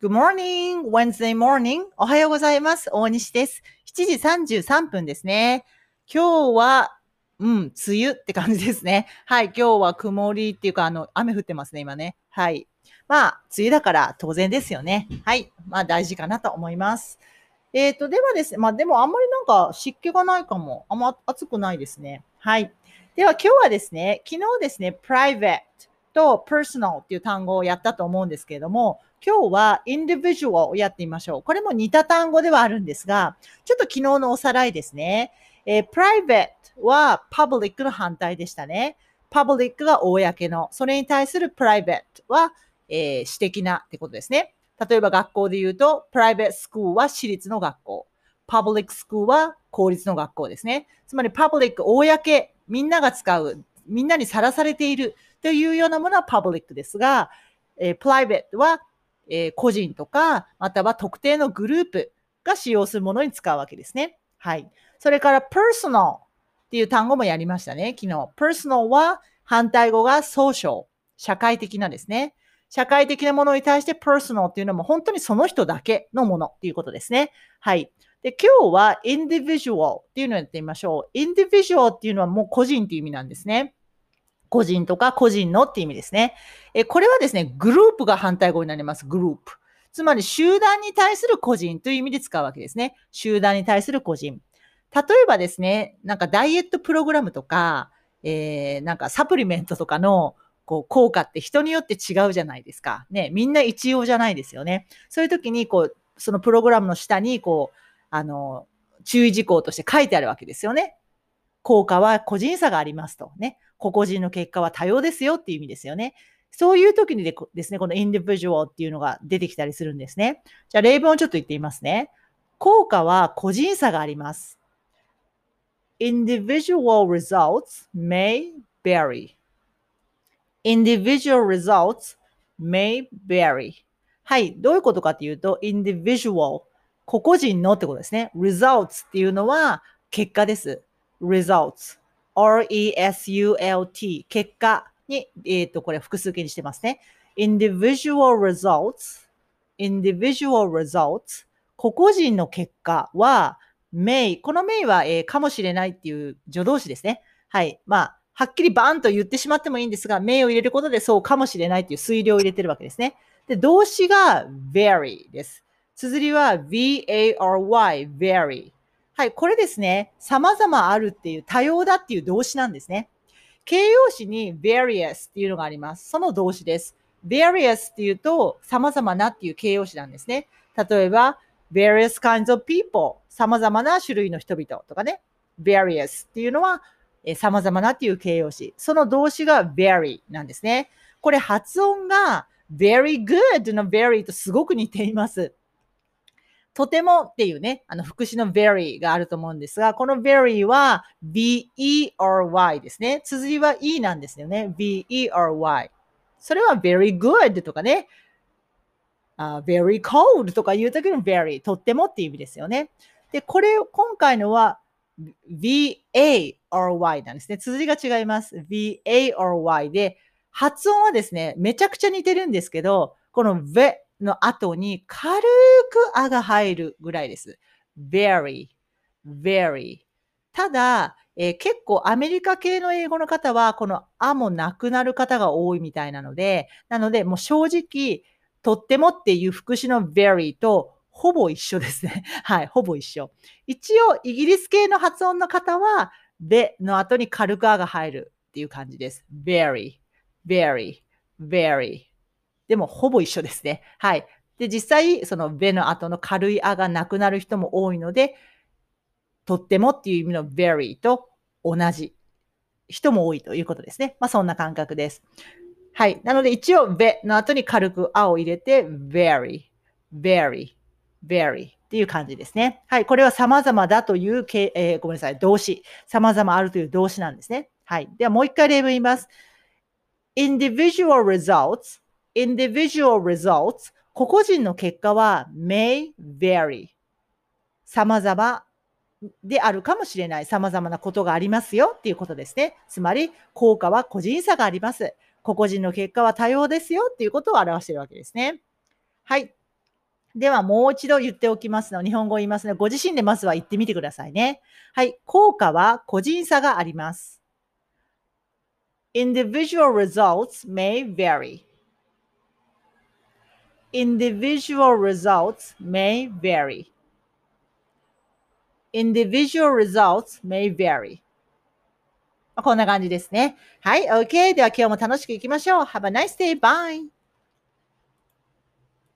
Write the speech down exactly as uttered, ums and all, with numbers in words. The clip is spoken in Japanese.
Good morning, Wednesday morning. おはようございます。大西です。しちじさんじゅうさんぷんですね。今日は、うん、梅雨って感じですね。はい、今日は曇りっていうか、あの、雨降ってますね、今ね。はい。まあ、梅雨だから当然ですよね。はい。まあ、大事かなと思います。えっと、ではですね、まあ、でもあんまりなんか湿気がないかも。あんま暑くないですね。はい。では今日はですね、昨日ですね、private と personal っていう単語をやったと思うんですけれども、今日は individual をやってみましょう。これも似た単語ではあるんですが、ちょっと昨日のおさらいですね。えー、private は public の反対でしたね。public が公の。それに対する private は、えー、私的なってことですね。例えば学校で言うと、private school は私立の学校。public school は公立の学校ですね。つまり public 公、みんなが使う、みんなにさらされているというようなものは public ですが、えー、private は、えー、個人とか、または特定のグループが使用するものに使うわけですね。はい。それから personal っていう単語もやりましたね、昨日。personal は反対語が social、社会的なですね。社会的なものに対して personal っていうのも本当にその人だけのものっていうことですね。はい。で、今日は individual っていうのをやってみましょう。individual っていうのはもう個人っていう意味なんですね。個人とか個人のっていう意味ですね。え、これはですね、グループが反対語になります。グループ。つまり集団に対する個人という意味で使うわけですね。集団に対する個人。例えばですね、なんかダイエットプログラムとか、えー、なんかサプリメントとかのこう効果って人によって違うじゃないですか。ね、みんな一様じゃないですよね。そういう時にこう、そのプログラムの下にこう、あの、注意事項として書いてあるわけですよね。効果は個人差がありますとね。個々人の結果は多様ですよっていう意味ですよね。そういう時にでですね、この individual っていうのが出てきたりするんですね。じゃあ例文をちょっと言ってみますね。効果は個人差があります。Individual results may vary. Individual results may vary. はい。どういうことかというと、individual、個々人のってことですね。results っていうのは結果です。results。アールイーエスユーエルティー。結果に、えっと、これ複数形にしてますね。individual results。individual results。個々人の結果は、may。この may は、えー、かもしれないっていう助動詞ですね。はい。まあ、はっきりバーンと言ってしまってもいいんですが、may を入れることでそうかもしれないっていう推量を入れてるわけですね。で、動詞が vary です。綴りは V-A-R-Y、vary。はい、これですね、様々あるっていう、多様だっていう動詞なんですね。形容詞に various っていうのがあります。その動詞です。various っていうと、様々なっていう形容詞なんですね。例えば、various kinds of people、様々な種類の人々とかね。various っていうのは、えー、様々なっていう形容詞。その動詞が vary なんですね。これ発音が very good の very とすごく似ています。とてもっていうね、あの、副詞の very があると思うんですが、この very は V-E-R-Y ですね。綴りは E なんですよね。V-E-R-Y。それは very good とかね、uh, very cold とかいう時の very、とってもっていう意味ですよね。で、これ、今回のは V-A-R-Y なんですね。綴りが違います。V-A-R-Y で、発音はですね、めちゃくちゃ似てるんですけど、この V の後に軽くあが入るぐらいです。very, very. ただ、えー、結構アメリカ系の英語の方は、このあもなくなる方が多いみたいなので、なので、もう正直、とってもっていう副詞の very とほぼ一緒ですね。はい、ほぼ一緒。一応、イギリス系の発音の方は、べの後に軽くあが入るっていう感じです。very, very, very. でも、ほぼ一緒ですね。はい。で、実際、そのべの後の軽いあがなくなる人も多いので、とってもっていう意味の very と同じ人も多いということですね。まあ、そんな感覚です。はい。なので一応、べの後に軽くあを入れて、very, very, very っていう感じですね。はい。これは様々だという、えー、ごめんなさい、動詞。様々あるという動詞なんですね。はい。ではもう一回例文言います。individual results, individual results 個々人の結果は may vary 様々であるかもしれない。様々なことがありますよっていうことですね。つまり、効果は個人差があります。個々人の結果は多様ですよっていうことを表しているわけですね。はい。 では、もう一度言っておきますの。日本語を言いますので、ご自身でまずは言ってみてくださいね。はい。効果は個人差があります。Individual results may vary. Individual results may vary. Individual results may vary. こんな感じですね。はい、OK。では今日も楽しくいきましょう。Have a nice day. Bye.